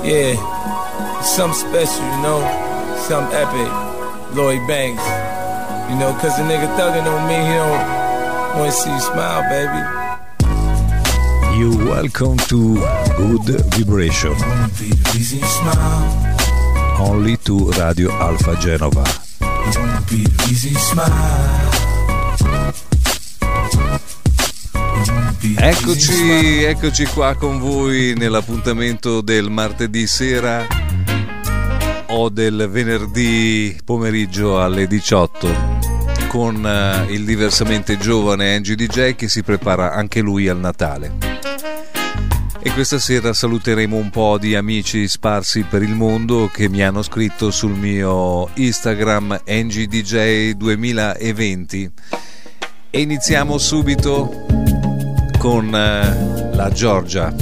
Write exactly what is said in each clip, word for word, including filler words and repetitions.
Yeah, something special, you know, something epic. Lloyd Banks, you know, cause the nigga thuggin' on me, he don't wanna see you smile, baby. You welcome to Good Vibration. Only to Radio Alfa Genova. Eccoci, eccoci qua con voi nell'appuntamento del martedì sera o del venerdì pomeriggio alle diciotto con uh, il diversamente giovane Angie D J che si prepara anche lui al Natale. E questa sera saluteremo un po' di amici sparsi per il mondo che mi hanno scritto sul mio Instagram Angie D J duemilaventi e iniziamo subito con uh, la Giorgia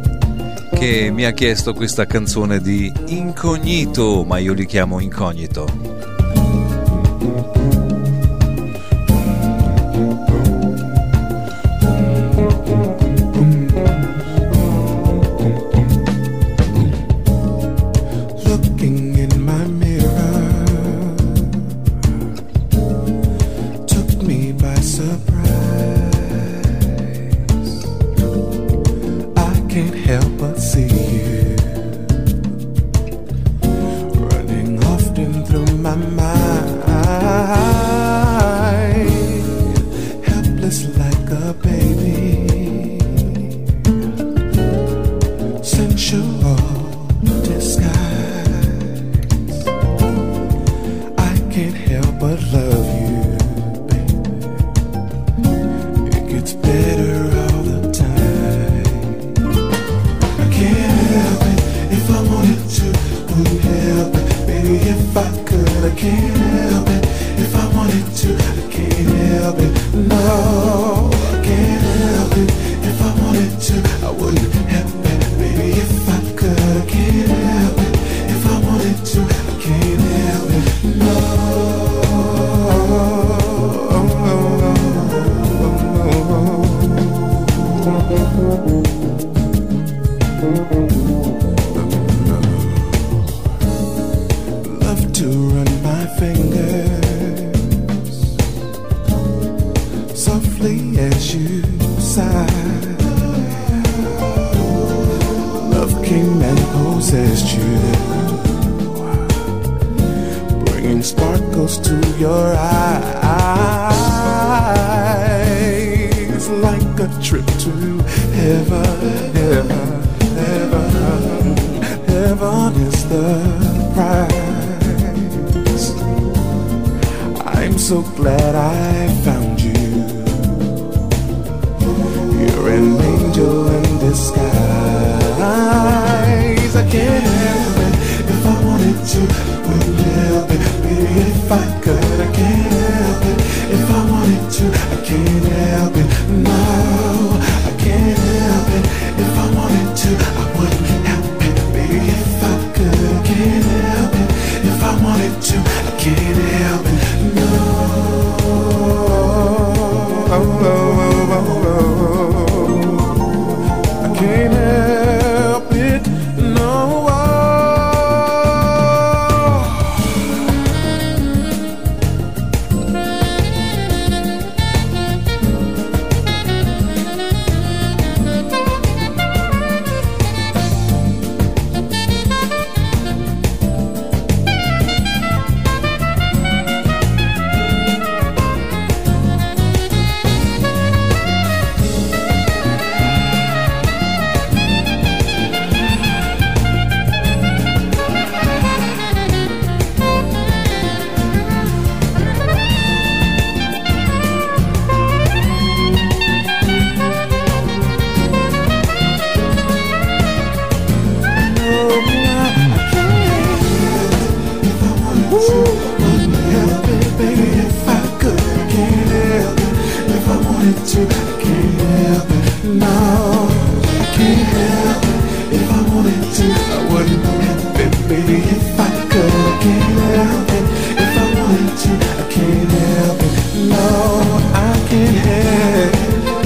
che mi ha chiesto questa canzone di Incognito, ma io li chiamo Incognito.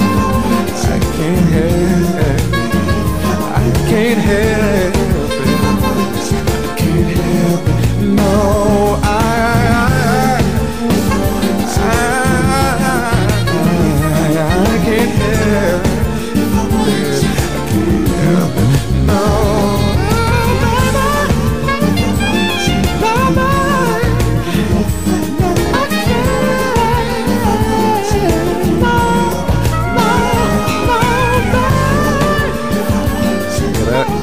Can't help it.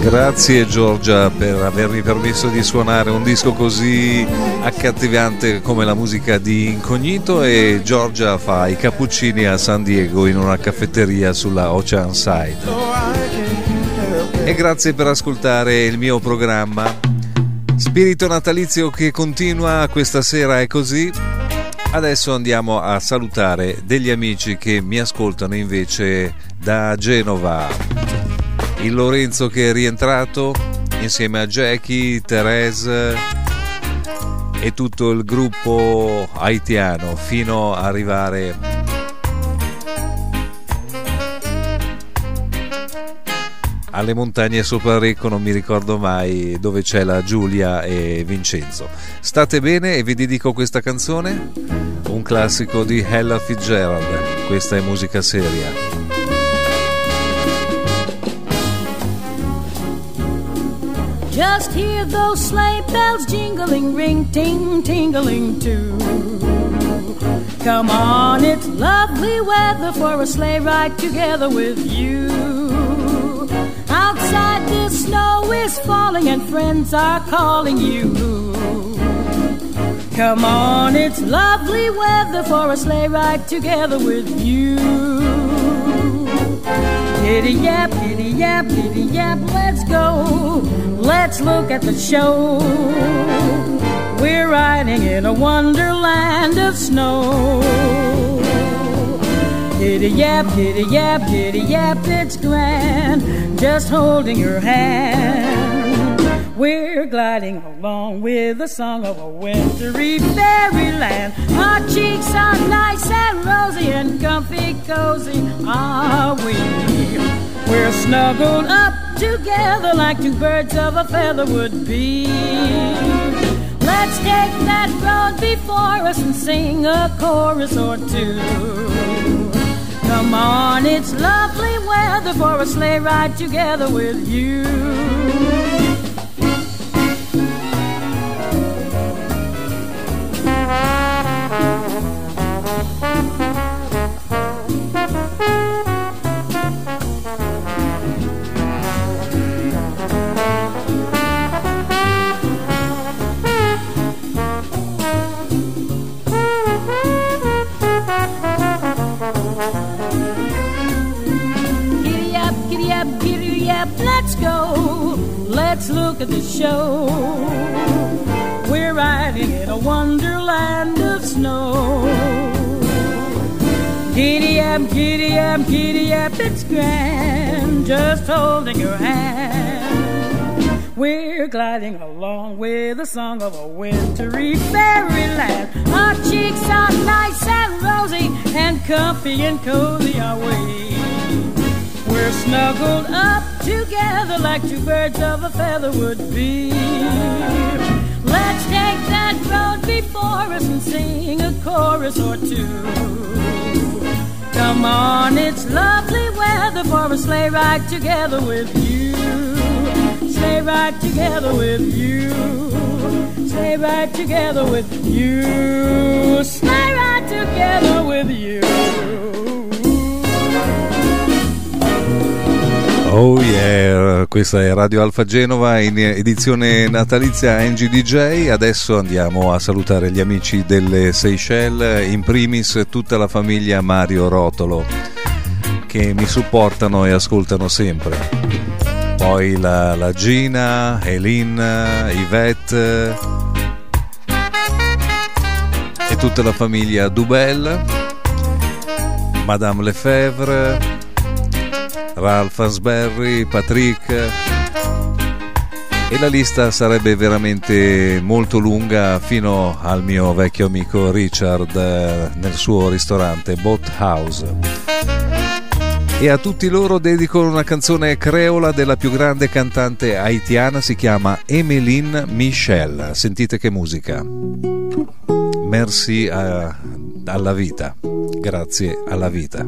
Grazie Giorgia per avermi permesso di suonare un disco così accattivante come la musica di Incognito. E Giorgia fa i cappuccini a San Diego in una caffetteria sulla Oceanside. E grazie per ascoltare il mio programma. Spirito natalizio che continua, questa sera è così. Adesso andiamo a salutare degli amici che mi ascoltano invece da Genova. Il Lorenzo che è rientrato insieme a Jackie, Therese e tutto il gruppo haitiano fino ad arrivare alle montagne sopra Recco, non mi ricordo mai, dove c'è la Giulia e Vincenzo. State bene e vi dedico questa canzone, un classico di Ella Fitzgerald. Questa è musica seria. Just hear those sleigh bells jingling, ring, ting, tingling too. Come on, it's lovely weather for a sleigh ride together with you. Outside the snow is falling and friends are calling you. Come on, it's lovely weather for a sleigh ride together with you. Giddy yap, giddy yap, giddy yap, let's go. Let's look at the show. We're riding in a wonderland of snow. Giddy yap, giddy yap, giddy yap, it's grand. Just holding your hand. We're gliding along with the song of a wintry fairyland. Our cheeks are nice and rosy and comfy cozy are we. We're snuggled up together like two birds of a feather would be. Let's take that road before us and sing a chorus or two. Come on, it's lovely weather for a sleigh ride together with you. Let's go, let's look at the show. We're riding in a wonderland of snow. Giddy up, giddy up, giddy up, it's grand. Just holding your hand. We're gliding along with the song of a wintry fairyland. Our cheeks are nice and rosy and comfy and cozy are we. We're snuggled up together like two birds of a feather would be. Let's take that road before us and sing a chorus or two. Come on, it's lovely weather for a sleigh ride together with you. Sleigh ride together with you. Sleigh ride together with you. Sleigh ride together with you. Oh yeah, questa è Radio Alfa Genova in edizione natalizia N G D J. Adesso andiamo a salutare gli amici delle Seychelles, in primis tutta la famiglia Mario Rotolo che mi supportano e ascoltano sempre. Poi la, la Gina, Elin, Yvette e tutta la famiglia Dubel, Madame Lefebvre, Ralph Hansberry, Patrick, e la lista sarebbe veramente molto lunga fino al mio vecchio amico Richard nel suo ristorante Boat House. E a tutti loro dedico una canzone creola della più grande cantante haitiana, si chiama Emeline Michel. Sentite che musica. Merci a, alla vita, grazie alla vita.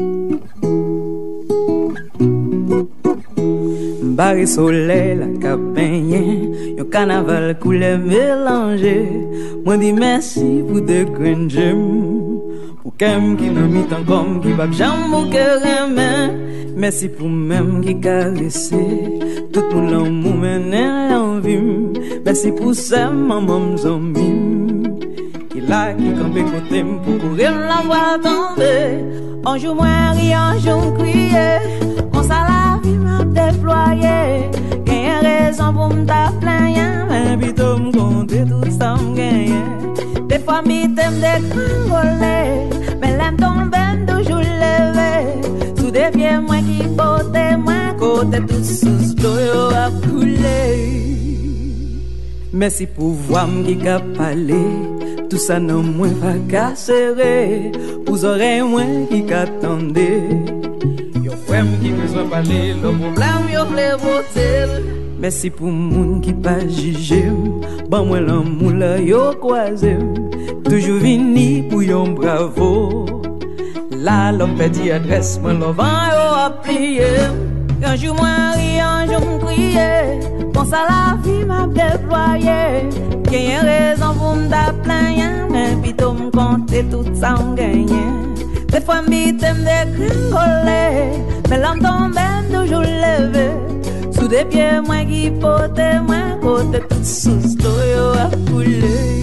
Barre soleil la cap baigné, yon carnaval couleur mélangé. Moi dis merci pour de grands gemmes, pour Kem qui n'a mis tant comme qui va jamais que merci pour même qui caresser tout le monde l'amour mener l'envie. Merci pour ça maman zombie qui là qui campe côté pour courir la voir tomber. Un jour moi ri, un jour crier. On ça la vie m'a déployé. Gagne raison pour me plaindre, mais plutôt me compter tout ça me gagne. Des fois mi t'aime dégringoler, mais l'aime tomber toujours levé. Sous des pieds moi qui porte moi côté tout sous l'eau a coulé. Merci pour voir qui qu'a parlé. Tout ça non moins pas casseré. Vous aurez moins qui qu'attendez. Yo frère qui besoin parler, le problème yo vle voter. Merci pour moun qui pas jugé. Bon moi l'amour là yo croisé. Toujours vini pour yon bravo. Là l'homme perdit adresse, moi l'envant yo a plié. Un jour moi ri, un jour crier. Bon ça la vie m'a déployé. Gagne raison pour m'plaindre, mais plutôt me compter tout ça on gagne. Des fois m'y t'aime dégringoler, mais l'homme tombe toujours levé. Sous des pieds moi qui porte moi côté tout sous l'eau a coulé.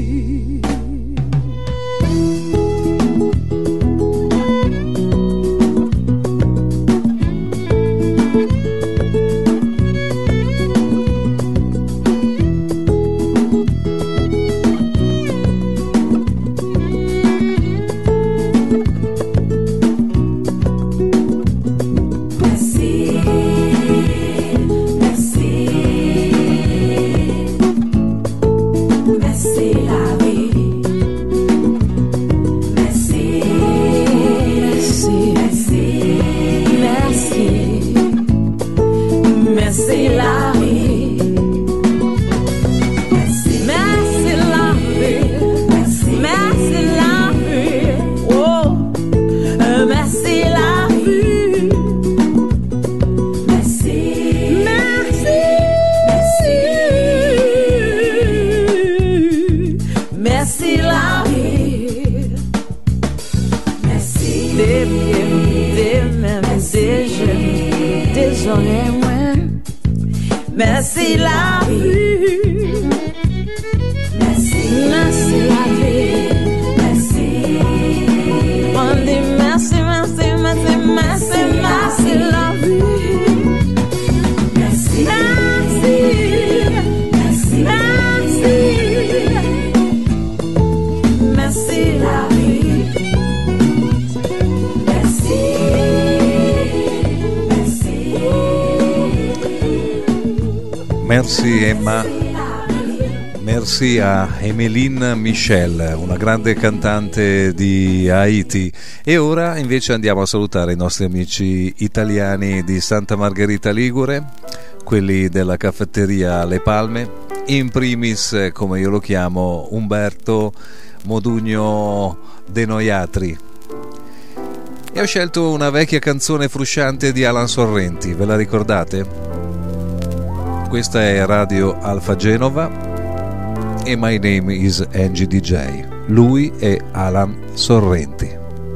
Merci la vie, merci, merci la vie, merci. On dit merci, merci, merci, merci, merci la vie. Merci, merci, merci, merci, merci la vie. Merci, merci. Merci Emma, merci a Emeline Michel, una grande cantante di Haiti. E ora invece andiamo a salutare i nostri amici italiani di Santa Margherita Ligure, quelli della caffetteria Le Palme, in primis, come io lo chiamo, Umberto Modugno De Noiatri. E ho scelto una vecchia canzone frusciante di Alan Sorrenti, ve la ricordate? Questa è Radio Alfa Genova e My Name is Angie D J. Lui è Alan Sorrenti.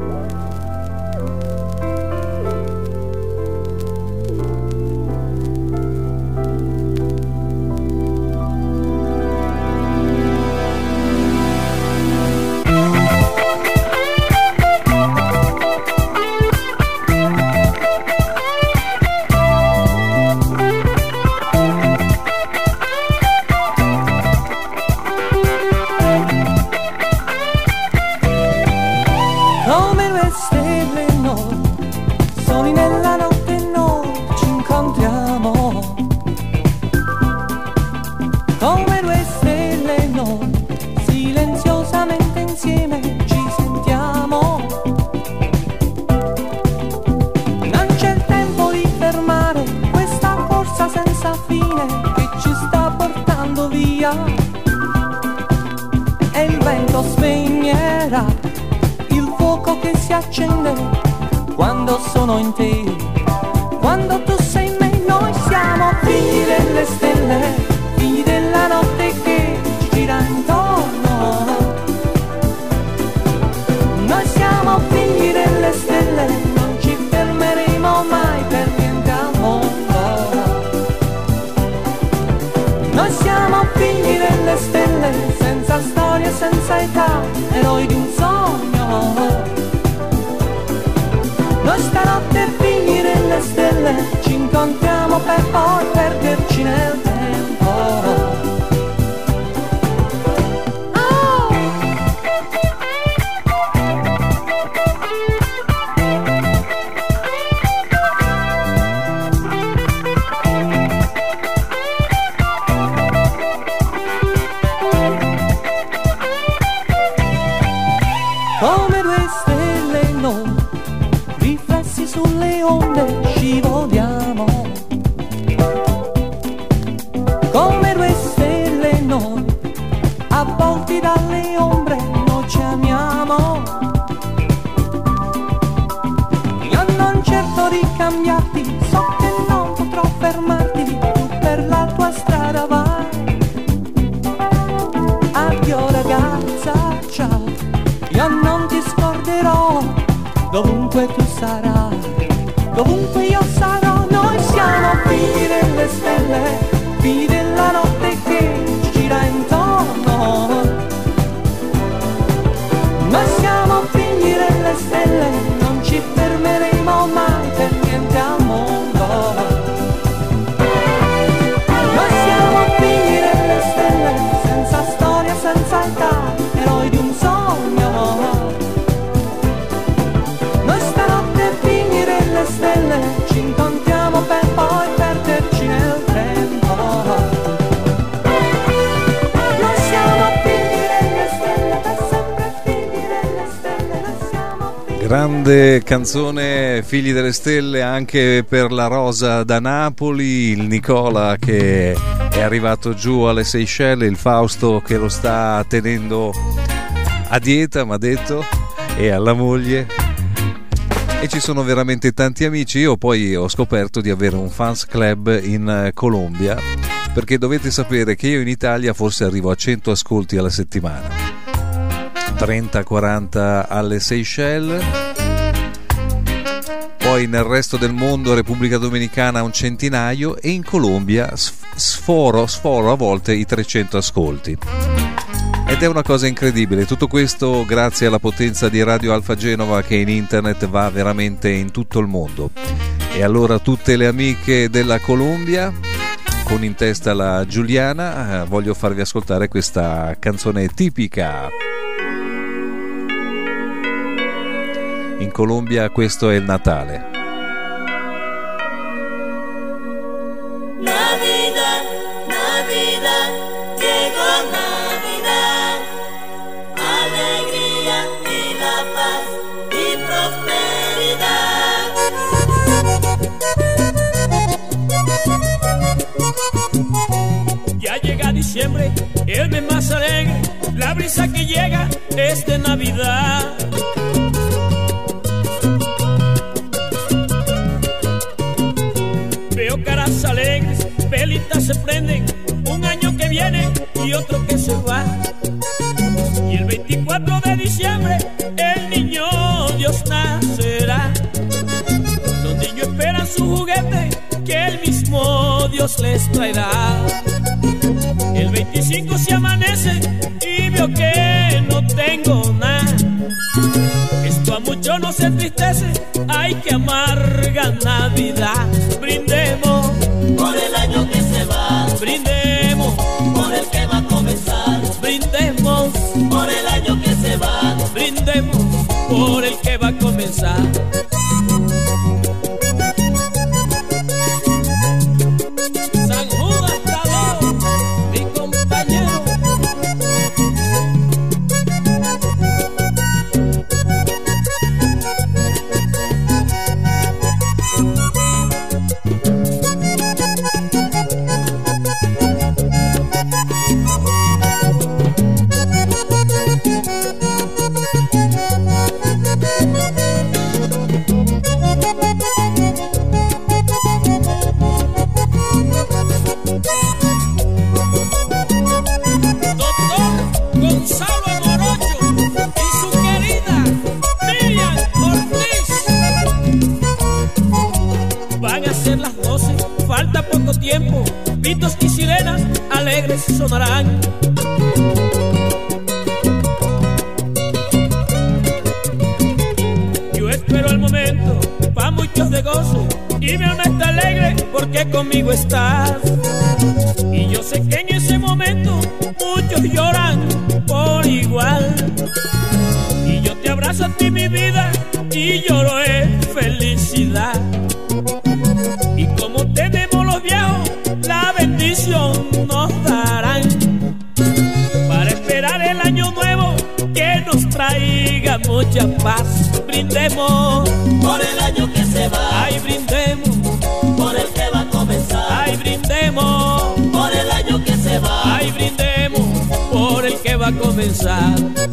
Quando sono in te, quando tu sei in me, noi siamo figli delle stelle, figli della notte che ci gira intorno. Noi siamo senza età, eroi di un sogno. Noi stanotte finire le stelle, ci incontriamo per poi perderci nel tempo. Oh! Come due stelle noi, riflessi sulle onde, scivoliamo. Come due stelle noi, avvolti dalle ombre, noi ci amiamo. Io non cerco di cambiarti, so che non potrò fermarti, tu per la tua strada vai. Addio ragazza, ciao, io non ti scorderò, dovunque tu sarai, dovunque io sarò. Noi siamo figli delle stelle, figli della notte che ci gira intorno. Noi siamo figli delle stelle, non ci fermeremo mai per niente al mondo. Noi siamo figli delle stelle, senza storia, senza età, eroi di un sogno. Noi stanotte figli delle stelle, ci incontriamo per poi perderci nel tempo. Noi siamo figli delle stelle, per sempre figli delle stelle. Noi siamo figli. Grande canzone, Figli delle Stelle, anche per la Rosa da Napoli, il Nicola che è arrivato giù alle Seychelles, il Fausto che lo sta tenendo a dieta, mi ha detto, e alla moglie. E ci sono veramente tanti amici. Io poi ho scoperto di avere un fans club in Colombia, perché dovete sapere che io in Italia forse arrivo a cento ascolti alla settimana, trenta quaranta alle Seychelles, poi nel resto del mondo, Repubblica Dominicana, un centinaio, e in Colombia sforo, sforo a volte i trecento ascolti. Ed è una cosa incredibile, tutto questo grazie alla potenza di Radio Alfa Genova, che in internet va veramente in tutto il mondo. E allora tutte le amiche della Colombia, con in testa la Giuliana, eh, voglio farvi ascoltare questa canzone tipica. In Colombia questo è il Natale. Navidad, Navidad, llegó Navidad, alegría y la paz y prosperidad. Ya llega diciembre, el mes más alegre, la brisa que llega es de Navidad. Veo caras alegres, velitas se prenden, un año que viene y otro que se va. Y el veinticuatro de diciembre el niño Dios nacerá. Los niños esperan su juguete que el mismo Dios les traerá. El veinticinco se amanece y veo que no tengo nada. Esto a muchos no se entristece, ay que amarga Navidad. Brindemos Por el año que se va, brindemos por el que va a comenzar. brindemos Por el año que se va, brindemos por el que va a comenzar. San Judas Tadeo, mi compañero. Tiempo, pitos y sirenas alegres sonarán. de gozo y mi alma está alegre porque conmigo estás. Y yo sé que en ese momento muchos lloran por igual. Y yo te abrazo a ti, mi vida, y lloro en felicidad. Y como tenemos los viejos, la bendición nos darán para esperar el año nuevo que nos traiga mucha paz. Brindemos por el año que se va. Ay, brindemos por el que va a comenzar. Ay, brindemos por el año que se va. Ay, brindemos por el que va a comenzar.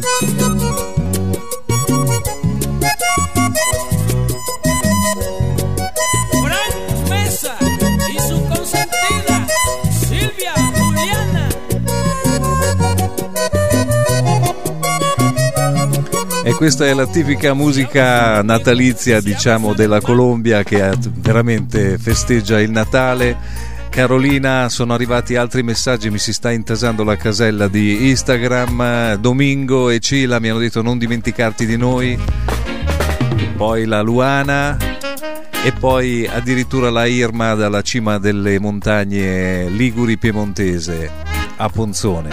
Frank Mesa y su consentida Silvia Juliana. E questa è la tipica musica natalizia, diciamo, della Colombia, che veramente festeggia il Natale. Carolina, sono arrivati altri messaggi, mi si sta intasando la casella di Instagram. Domingo e Cila mi hanno detto non dimenticarti di noi, poi la Luana e poi addirittura la Irma dalla cima delle montagne liguri piemontese a Ponzone.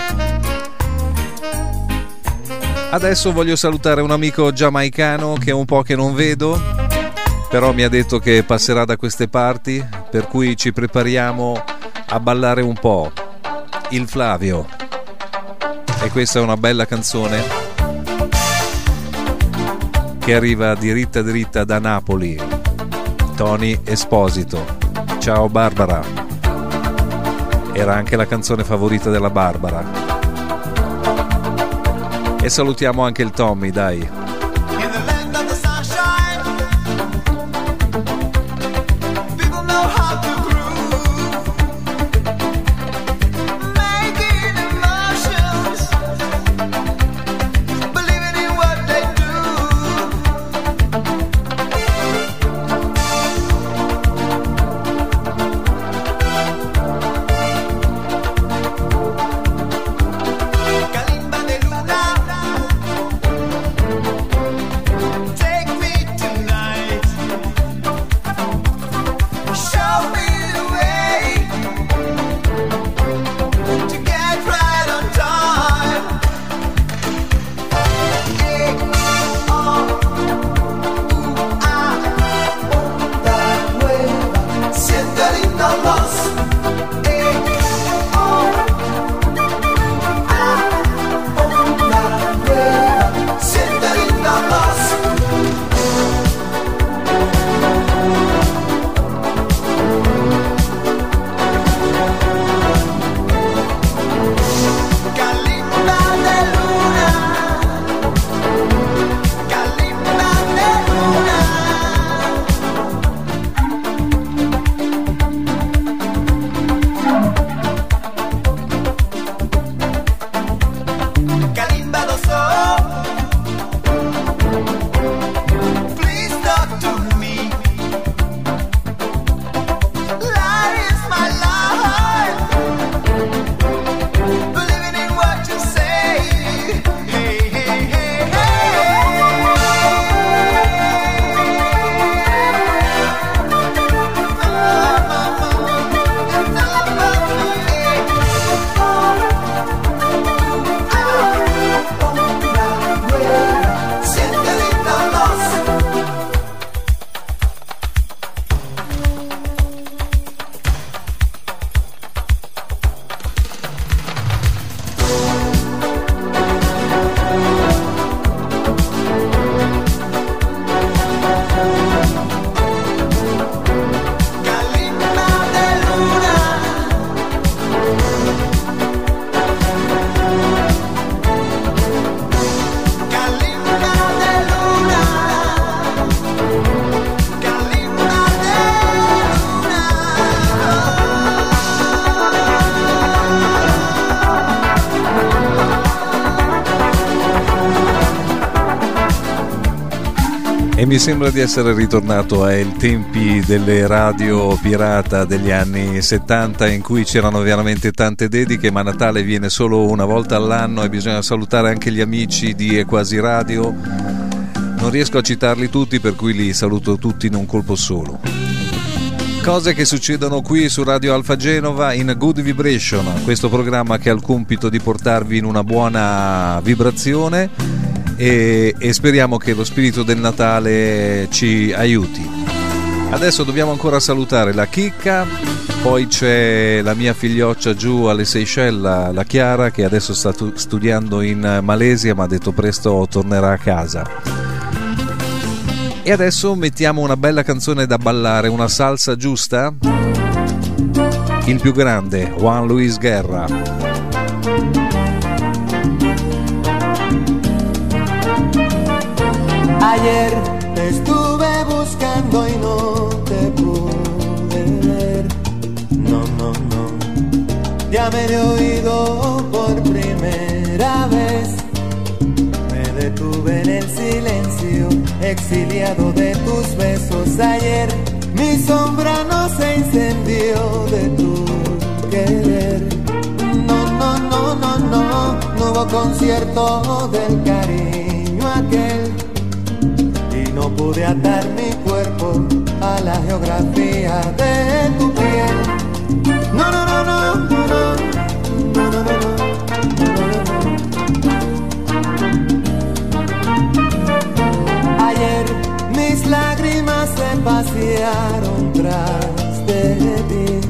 Adesso voglio salutare un amico giamaicano che è un po' che non vedo, però mi ha detto che passerà da queste parti, per cui ci prepariamo a ballare un po'. Il Flavio. E questa è una bella canzone che arriva diritta diritta da Napoli. Tony Esposito. Ciao Barbara. Era anche la canzone favorita della Barbara. E salutiamo anche il Tommy, dai. E mi sembra di essere ritornato ai tempi delle radio pirata degli anni settanta, in cui c'erano veramente tante dediche, ma Natale viene solo una volta all'anno e bisogna salutare anche gli amici di Equasi Radio. non riesco a citarli tutti, per cui li saluto tutti in un colpo solo. Cose che succedono qui su Radio Alfa Genova in Good Vibration, questo programma che ha il compito di portarvi in una buona vibrazione e, e speriamo che lo spirito del Natale ci aiuti. Adesso dobbiamo ancora salutare la Chicca, poi c'è la mia figlioccia giù alle Seychelles, la Chiara, che adesso sta studiando in Malesia ma ha detto presto tornerà a casa. E adesso mettiamo una bella canzone da ballare, una salsa giusta. Il più grande, Juan Luis Guerra. Ayer te estuve buscando y no te pude ver. No, no, no. Ya me he oído por primera vez. Me detuve en el silencio, exiliado de tus besos. Ayer mi sombra no se incendió de tu querer. No, no, no, no, no, no hubo concierto del cariño aquel. Y no pude atar mi cuerpo a la geografía de tu piel. No, no, no, no, no, no, no, no, no, no. Ayer mis lágrimas se pasearon tras de ti,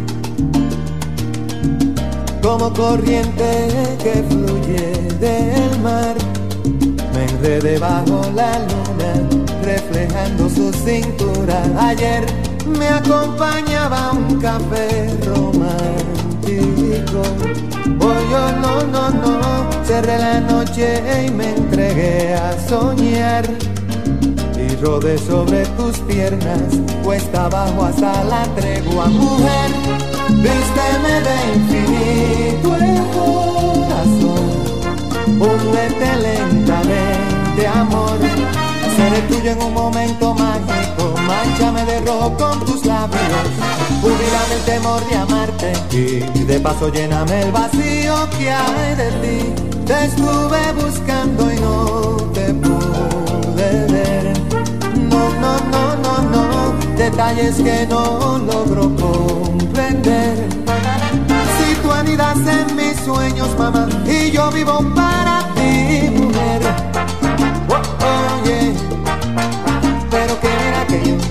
como corriente que fluye del mar. Me enredé bajo la luna, reflejando su cintura. Ayer me acompañaba un café romántico. Hoy yo no, no, no, cerré la noche y me entregué a soñar. Y rodé sobre tus piernas, cuesta abajo hasta la tregua. Mujer, vísteme de infinito el corazón, húndete lentamente, amor. Seré tuyo en un momento mágico, mánchame de rojo con tus labios, jubílame el temor de amarte y de paso lléname el vacío que hay de ti. Te estuve buscando y no te pude ver. No, no, no, no, no, detalles que no logro comprender. Si tú anidas en mis sueños, mamá, y yo vivo para ti, mujer. Oh, oh, yeah. Pero que mira que yo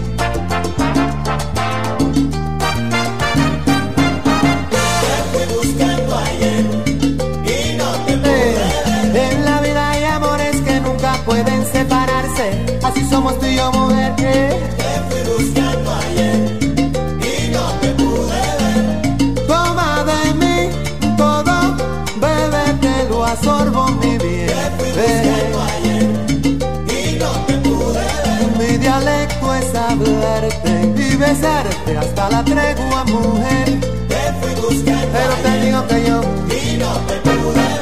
te fui buscando ayer y no te pude ver. En la vida hay amores que nunca pueden separarse. Así somos tú y yo, mujer. Te fui buscando ayer y no te pude ver. Toma de mí todo, bebé, te lo absorbo, mi bien. Te fui buscando ayer y no te pude ver. Mi dialecto es hablarte y besarte hasta la tregua, mujer. Te fui buscando Pero te digo que yo y no te pude ver.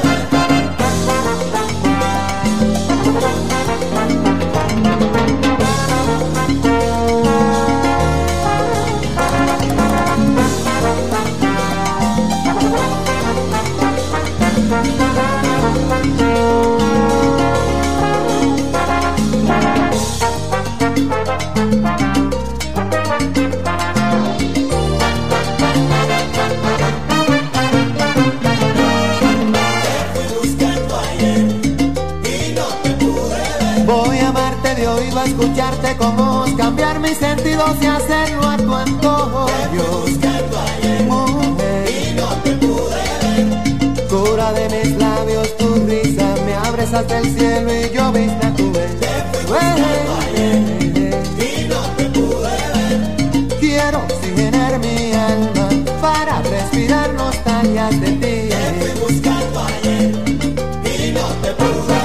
a escucharte con voz, cambiar mis sentidos y hacerlo a tu antojo. Yo buscando ayer mujer, y no te pude ver. Cura de mis labios tu risa, me abres hasta el cielo y yo viste a tu vez. Te fui buscando ayer y no te pude ver. Quiero oxigenar mi alma para respirar nostalgias de ti. Te fui buscando ayer y no te pude ver.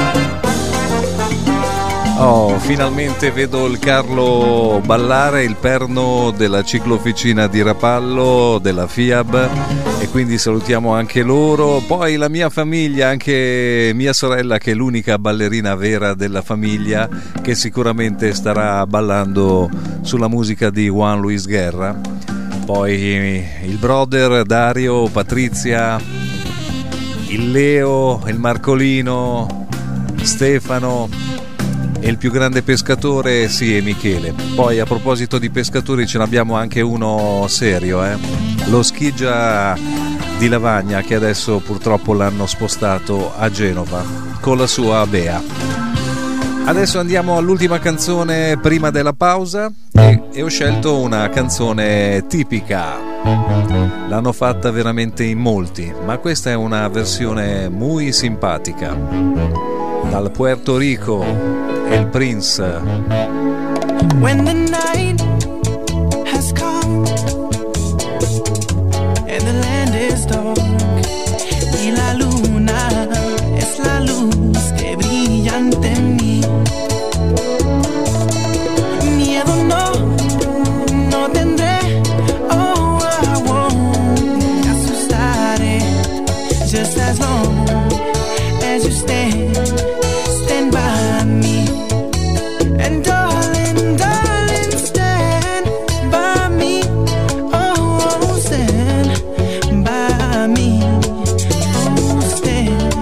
Oh, finalmente vedo il Carlo ballare, il perno della ciclofficina di Rapallo, della FIAB, e quindi salutiamo anche loro. Poi la mia famiglia, anche mia sorella che è l'unica ballerina vera della famiglia, che sicuramente starà ballando sulla musica di Juan Luis Guerra. Poi il brother Dario, Patrizia, il Leo, il Marcolino, Stefano e il più grande pescatore sì è Michele. Poi a proposito di pescatori ce n'abbiamo anche uno serio, eh? Lo Schigia di Lavagna, che adesso purtroppo l'hanno spostato a Genova con la sua Bea. Adesso andiamo all'ultima canzone prima della pausa e, e ho scelto una canzone tipica. L'hanno fatta veramente in molti, ma questa è una versione muy simpatica. Dal Puerto Rico, El Prince. When the night has come and the land is dark y la luna es la luz que brilla ante mí, miedo no, no tendré, oh I won't asustaré, just as long as you stand, stand by me, and darling, darling, stand by me, oh, stand by me, oh, stand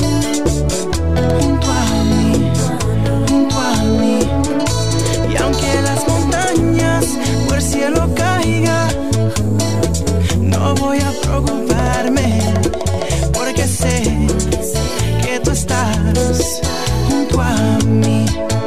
junto a mí, junto a mí, y aunque las montañas por el cielo caigan, no voy a preocuparme, porque sé que tú estás junto a mí.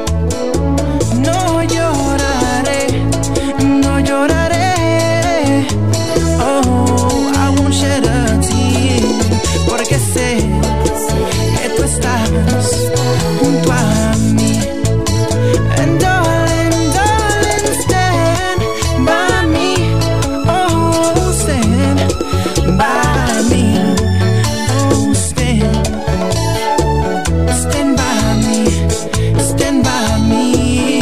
No lloraré, no lloraré, oh, I won't shed a tear, porque sé que tú estás junto a mí. And darling, darling, stand by me, oh, stand by me, oh, stand, stand by me, stand by me.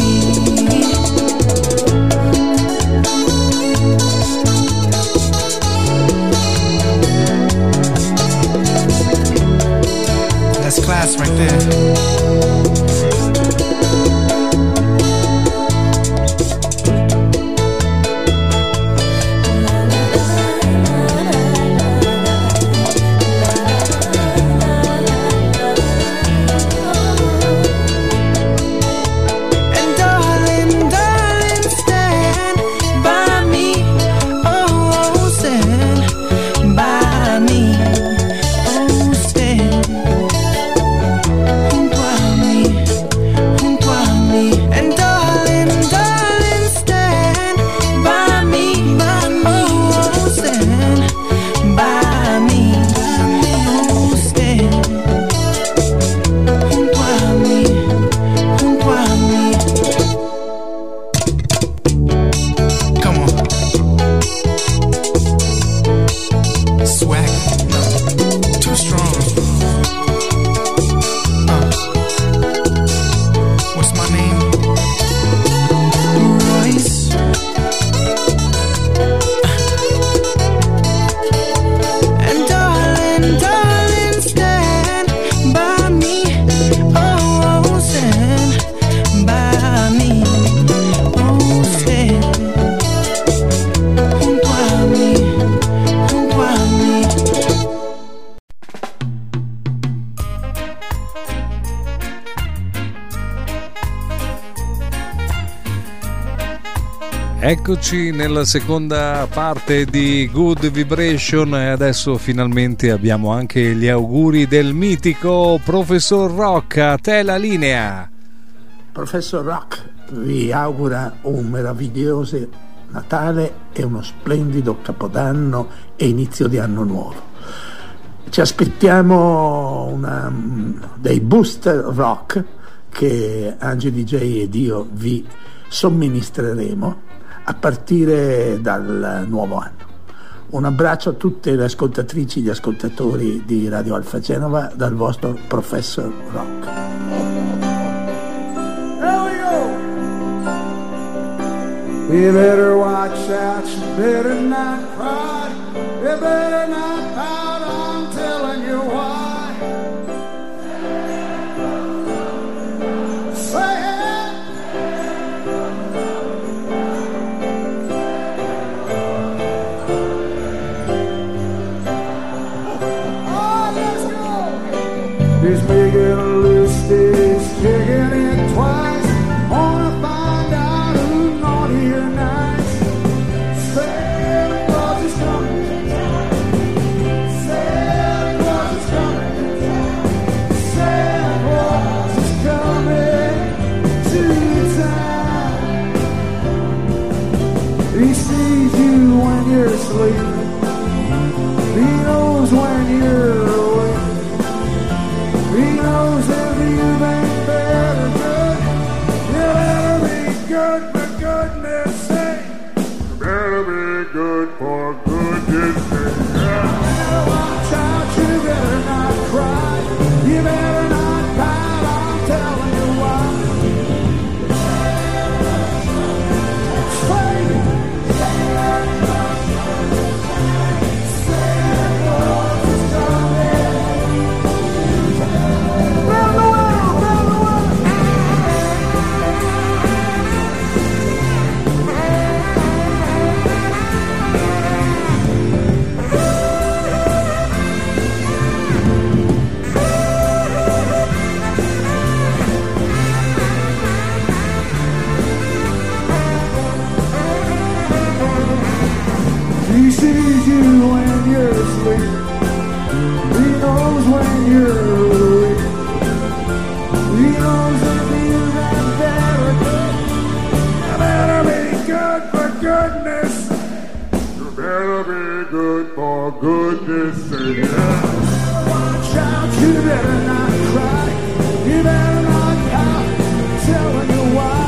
That's class right there. And darling, darling, stand by me, oh, stand by me, oh, stand junto a mí, junto a mí. And darling, darling, stand by me, oh, stand by me, oh, stand junto a mí, junto a mí. Come on. Swag, no, too strong. Uh, what's my name? Royce. And darling, darling, stand by me, oh, stand by me, oh, stand junto a mí, junto a mí. Eccoci nella seconda parte di Good Vibration e adesso finalmente abbiamo anche gli auguri del mitico Professor Rock. A te la linea. Professor Rock vi augura un meraviglioso Natale e uno splendido Capodanno e inizio di anno nuovo. Ci aspettiamo una, dei booster rock che Angie D J ed io vi somministreremo a partire dal nuovo anno. Un abbraccio a tutte le ascoltatrici e gli ascoltatori di Radio Alfa Genova dal vostro Professor Rock. You better watch out, you better not cry, you better not pout, I'm telling you why. Say it! Oh, let's go! He's making a list, he's kicking it twice. for goodness sake. Watch out, you better not cry. You better not pout. Telling you why.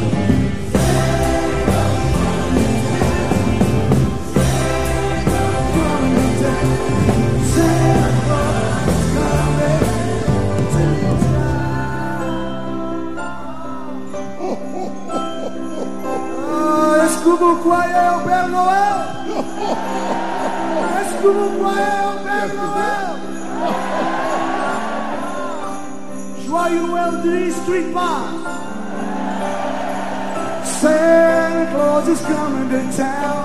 Est-ce que vous croyez au Père Noël? Est-ce que vous croyez au Père Noël? Joyeux Weldy Street Bar. Santa Claus is coming to town.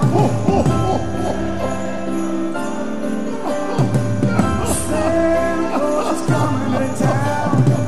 Santa Claus is coming to town.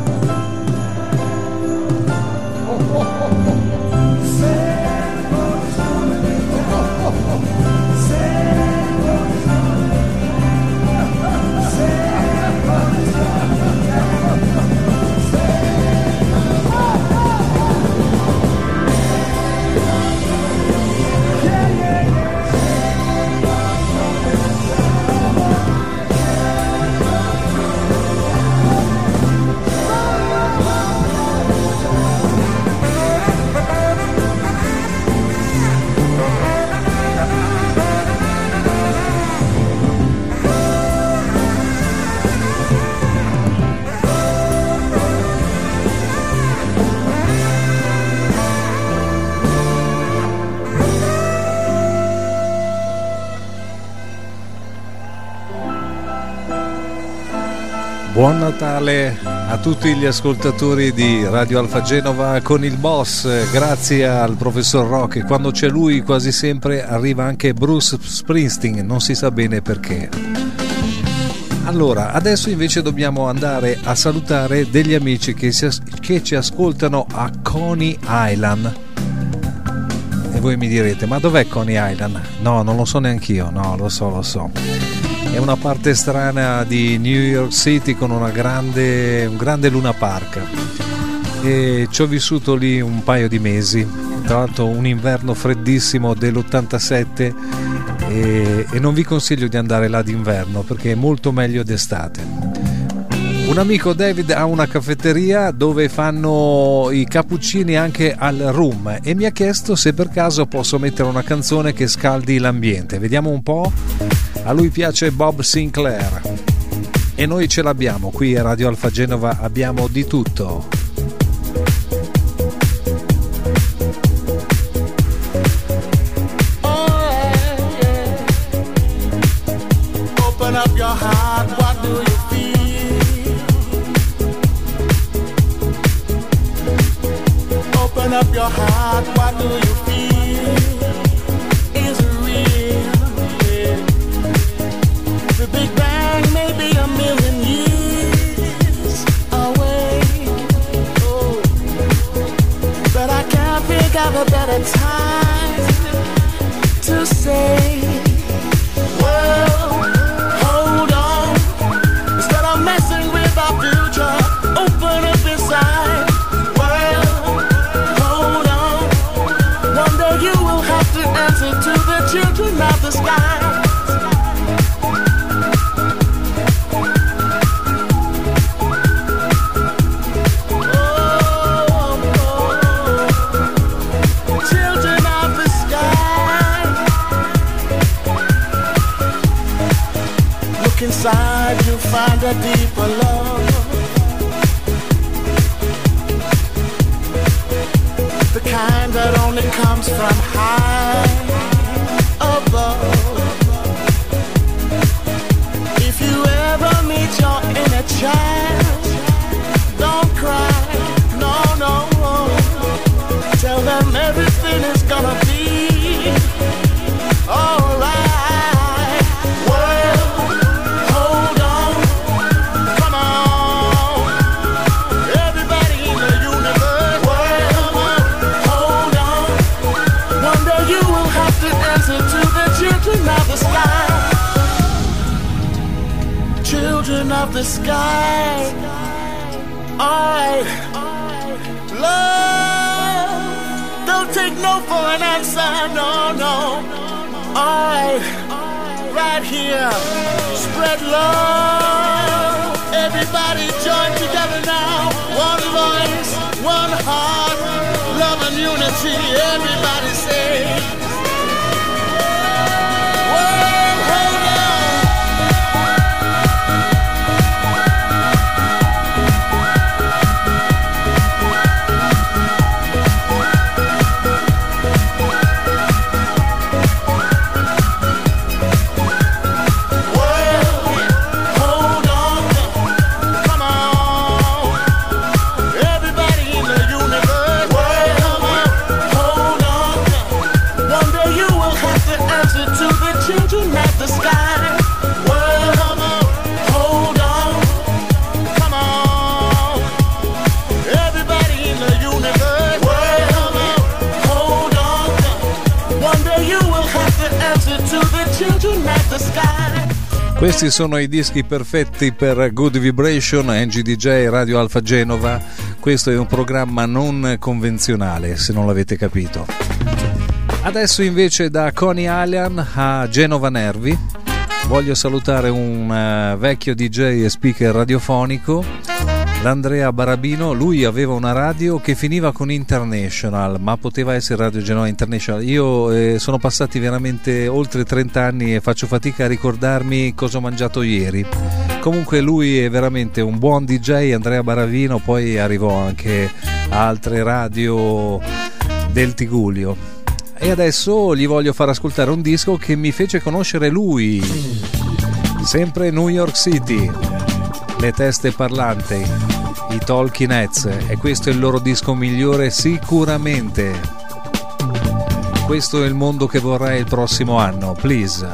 Buon Natale a tutti gli ascoltatori di Radio Alfa Genova con il boss, grazie al professor Rock. Quando c'è lui quasi sempre arriva anche Bruce Springsteen, non si sa bene perché. Allora, adesso invece dobbiamo andare a salutare degli amici che, si, che ci ascoltano a Coney Island. E voi mi direte, ma dov'è Coney Island? No, non lo so neanch'io, no, lo so, lo so. È una parte strana di New York City con una grande, un grande Luna Park, e ci ho vissuto lì un paio di mesi, tra l'altro un inverno freddissimo dell'ottantasette, e, e non vi consiglio di andare là d'inverno perché è molto meglio d'estate. Un amico David ha una caffetteria dove fanno i cappuccini anche al rum e mi ha chiesto se per caso posso mettere una canzone che scaldi l'ambiente. Vediamo un po'. A lui piace Bob Sinclair e noi ce l'abbiamo qui a Radio Alfa Genova, abbiamo di tutto. Open up your heart, what do you feel? Open up your heart, what do you feel? Is it real? The Big Bang may be a million years away, oh, but I can't think of a better time to say, well, hold on, instead of messing with our future, open up inside. Well, hold on, one day you will have to answer to the children of the sky. Inside you'll find a deeper love, the kind that only comes from high above. If you ever meet your inner child, don't cry, no, no, tell them everything is gonna be alright. Children of the sky, alright, love, don't take no for an answer, no, no, alright, right here. Spread love. Everybody join together now. One voice, one heart, love and unity. Everybody say. Questi sono i dischi perfetti per Good Vibration, N G D J, Radio Alfa Genova. Questo è un programma non convenzionale, se non l'avete capito. Adesso invece da Coney Island a Genova Nervi voglio salutare un uh, vecchio D J e speaker radiofonico, l'Andrea Barabino. Lui aveva una radio che finiva con International, ma poteva essere Radio Genova International. Io eh, sono passati veramente oltre trenta anni e faccio fatica a ricordarmi cosa ho mangiato ieri. Comunque lui è veramente un buon D J, Andrea Barabino. Poi arrivò anche a altre radio del Tigullio. E adesso gli voglio far ascoltare un disco che mi fece conoscere lui, sempre New York City, le teste parlanti, i Talking Heads, e questo è il loro disco migliore sicuramente. Questo è il mondo che vorrei il prossimo anno, please.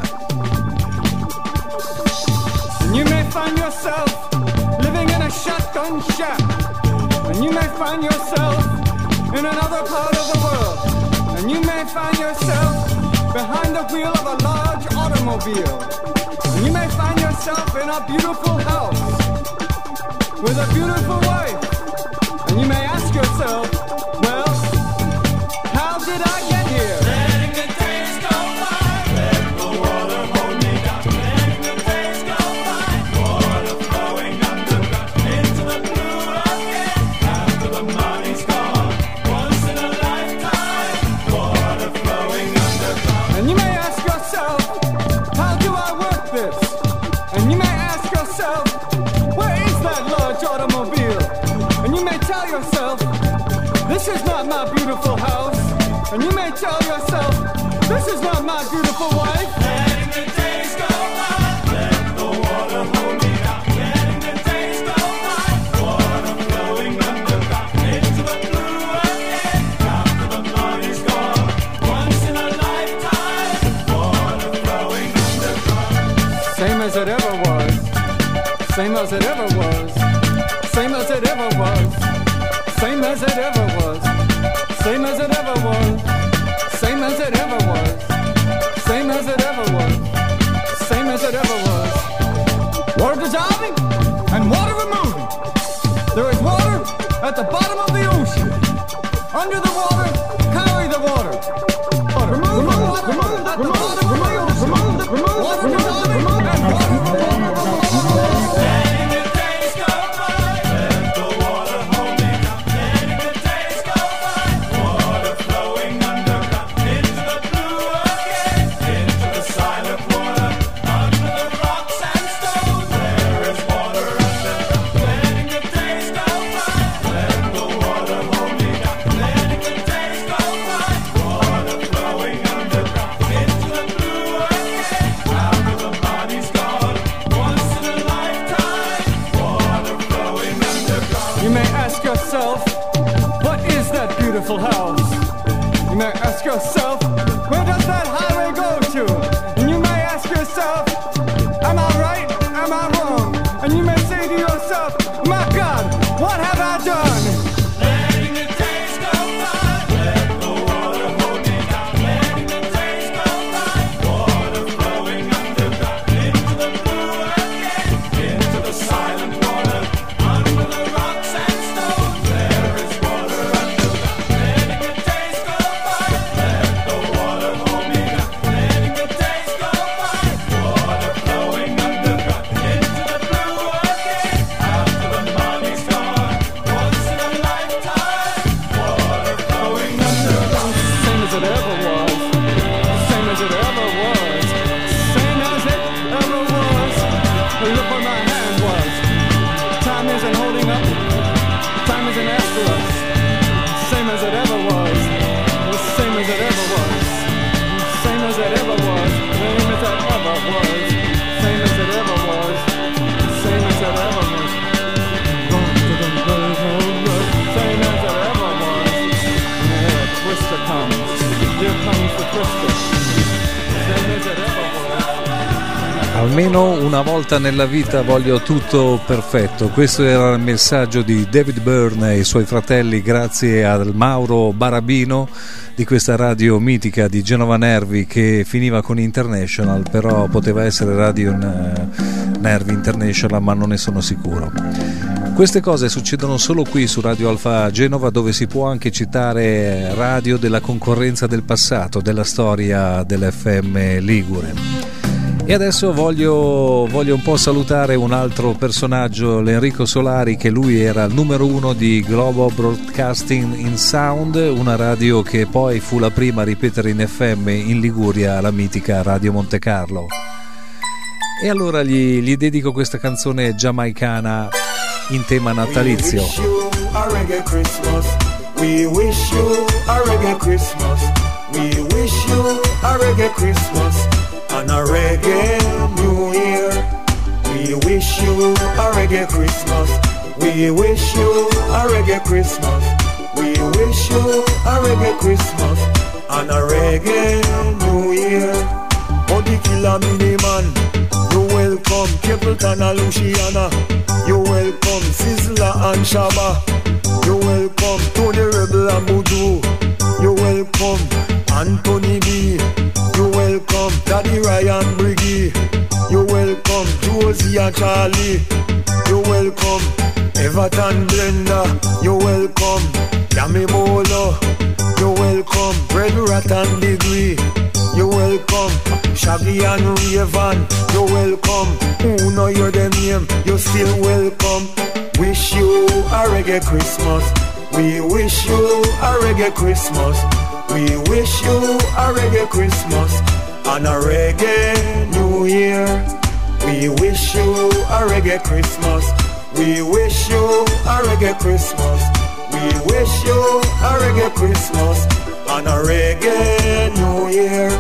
You may find yourself living in a shotgun shack, and you may find yourself in another part of the world. And you may find yourself behind the wheel of a large automobile. And you may find yourself in a beautiful house with a beautiful wife. And you may ask yourself, well, how did I get here? Letting the days go by, let the water hold me down. Letting the days go by, water flowing underground into the blue again. After the money's gone, once in a lifetime. And you may ask yourself, how do I work this? And you may ask yourself, where is that large automobile? And you may tell yourself, this is not my beautiful house. And you may tell yourself, this is not my beautiful wife. Letting the days go by, let the water hold me down. Letting the days go by, water flowing underground into the blue again. After the money's gone, once in a lifetime, water flowing underground. Same as it ever was, same as it ever was, same as it ever was, same as it ever was, same as it ever was, same as it ever was, same as it ever was, same as it ever was. Water dissolving and water removing. There is water at the bottom of the ocean. Under the water, carry the water. Water. Remove, remove, water remove, at remove, the bottom remove, of the ocean. Remove, remove, water dissolving and water removing. Letting the days go by, let the water hold me down. Letting the days go by, water flowing underground into the blue again, into the silent water, under the rocks and stones. There is water underground. Letting the days go by, let the water hold me down. Letting the days go by, water flowing underground into the blue again. After the body's gone, once in a lifetime, water flowing underground. You may ask yourself, what is that beautiful house? You may ask yourself, where does that highway go to? And you may ask yourself, am I right? Am I wrong? And you may say to yourself, my God, what have I done? Letting the days go by, let the water hold me down. Letting the days go by, water flowing underground into the blue again, into the silent water, under the rocks and stones. There is water underground. Letting the days go by, let the water hold me down. Letting the days go by, water look where my hand was. Time isn't holding up, time isn't after us. Same as it ever was, the same as it ever was. Same as it ever was, same as it ever was. Same as it ever was, same as it ever was. Same as it ever was. Yeah, Twister comes, here comes the Twister. Same as it ever was. Almeno una volta nella vita voglio tutto perfetto. Questo era il messaggio di David Byrne e i suoi fratelli, grazie al Mauro Barabino di questa radio mitica di Genova Nervi, che finiva con International, però poteva essere Radio Nervi International, ma non ne sono sicuro. Queste cose succedono solo qui su Radio Alfa Genova, dove si può anche citare radio della concorrenza del passato, della storia dell'F M Ligure. E adesso voglio, voglio un po' salutare un altro personaggio, l'Enrico Solari, che lui era il numero uno di Global Broadcasting in Sound, una radio che poi fu la prima a ripetere in F M in Liguria, la mitica Radio Monte Carlo. E allora gli, gli dedico questa canzone giamaicana in tema natalizio. We wish you a reggae Christmas. We wish you a reggae Christmas and a reggae New Year. We wish you a reggae Christmas. We wish you a reggae Christmas. We wish you a reggae Christmas and a reggae New Year. Body Killer Miniman, you welcome Capleton and Luciana. You welcome Sizzla and Shabba. You welcome Tony Rebel and Voodoo. You welcome Anthony B. You welcome Daddy Ryan Briggy. You welcome Josie and Charlie. You welcome Everton Blender. You welcome Yami Bolo. You welcome Red Rat and Degree. You welcome Shaggy and Raven. You welcome who know your them name. You still welcome. Wish you a reggae Christmas. We wish you a reggae Christmas. We wish you a reggae Christmas and a reggae New Year. We wish you a reggae Christmas. We wish you a reggae Christmas. We wish you a reggae Christmas and a reggae New Year.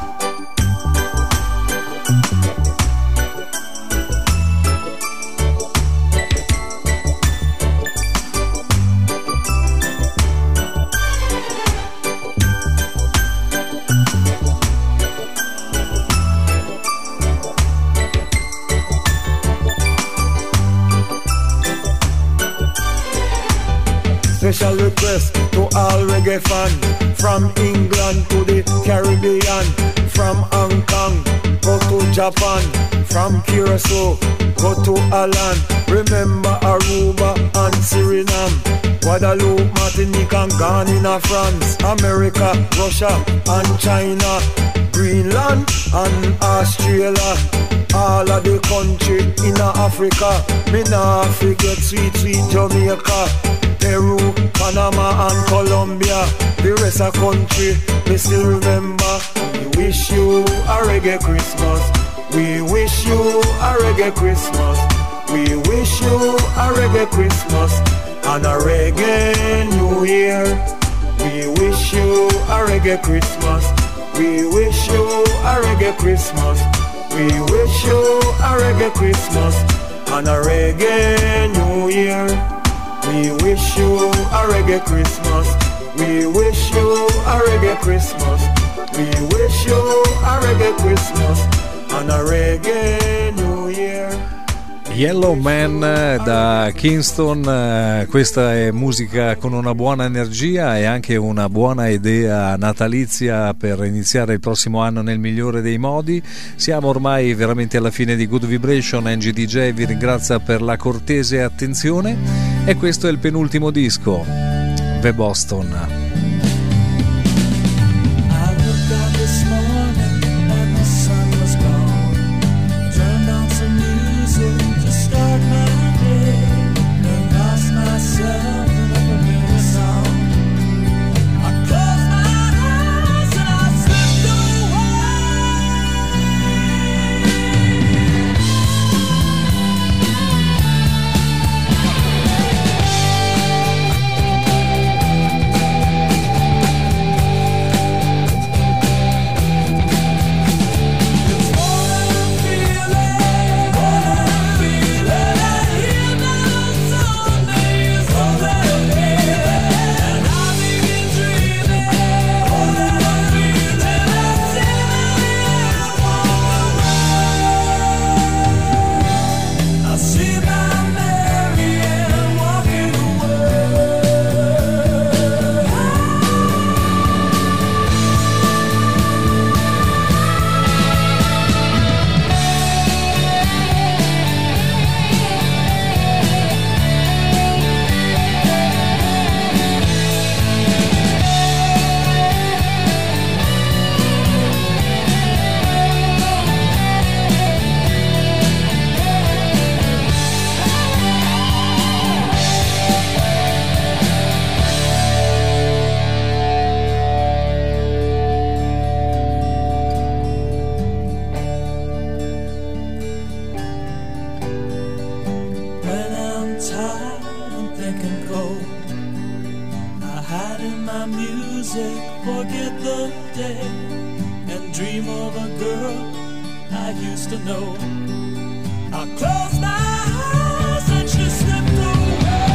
Special request to all reggae fan, from England to the Caribbean, from Hong Kong, go to Japan, from Curacao, go to Ireland, remember Aruba and Suriname, Guadeloupe, Martinique and Ghana, France, America, Russia and China, Greenland and Australia, all of the country in Africa, me nah forget sweet, sweet Jamaica, Peru, Panama and Colombia, the rest of country, me still remember. We wish you a reggae Christmas. We wish you a reggae Christmas. We wish you a reggae Christmas and a reggae New Year. We wish you a reggae Christmas. We wish you a reggae Christmas. We wish you a reggae Christmas and a reggae New Year. We wish you a reggae Christmas. We wish you a reggae Christmas. We wish you a reggae Christmas and a reggae New Year. Yellow Man da Kingston, questa è musica con una buona energia e anche una buona idea natalizia per iniziare il prossimo anno nel migliore dei modi. Siamo ormai veramente alla fine di Good Vibration. Angie D J vi ringrazia per la cortese attenzione e questo è il penultimo disco, The Boston. cold. I hide in my music, forget the day, and dream of a girl I used to know. I close my eyes and she slipped away.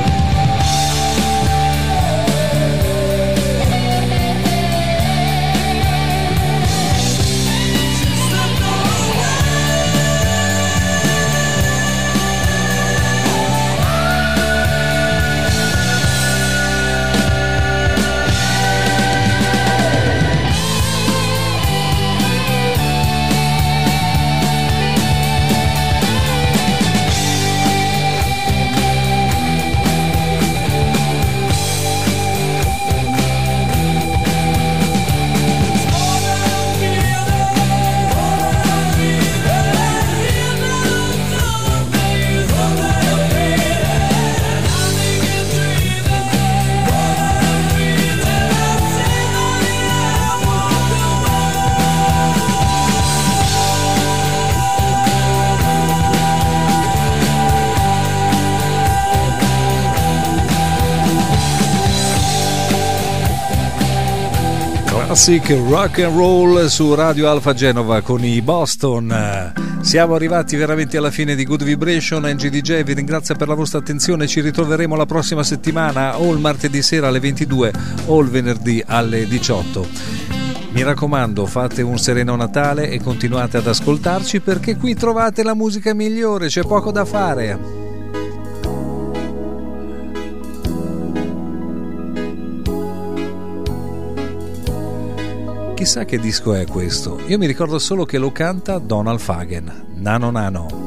Classic rock and roll su Radio Alfa Genova con i Boston. Siamo arrivati veramente alla fine di Good Vibration. Angie D J vi ringrazia per la vostra attenzione. Ci ritroveremo la prossima settimana o il martedì sera alle ventidue o il venerdì alle diciotto. Mi raccomando, fate un sereno Natale e continuate ad ascoltarci, perché qui trovate la musica migliore, c'è poco da fare. Chissà che disco è questo. Io mi ricordo solo che lo canta Donald Fagen. Nano Nano.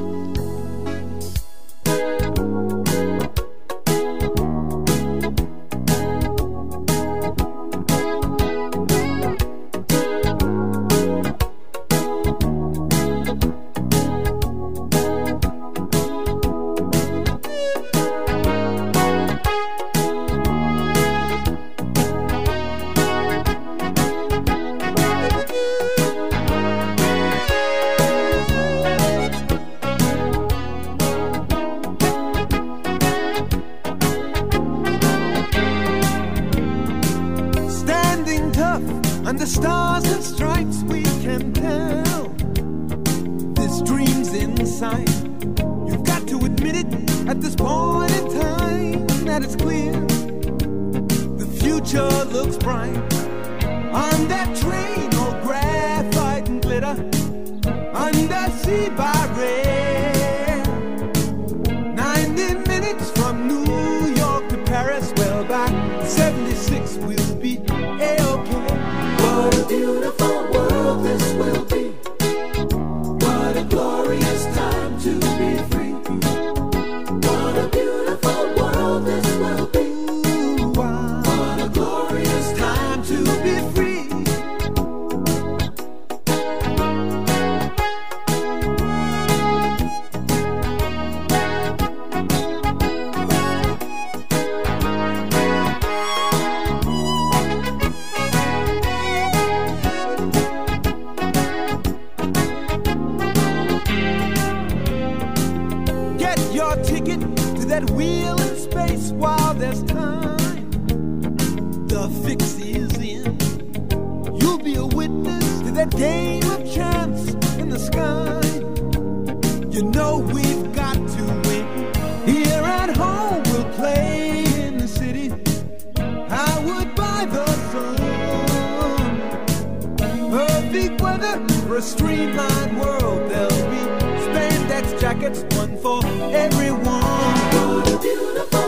For a streamlined world, there'll be spandex jackets, one for everyone. What a beautiful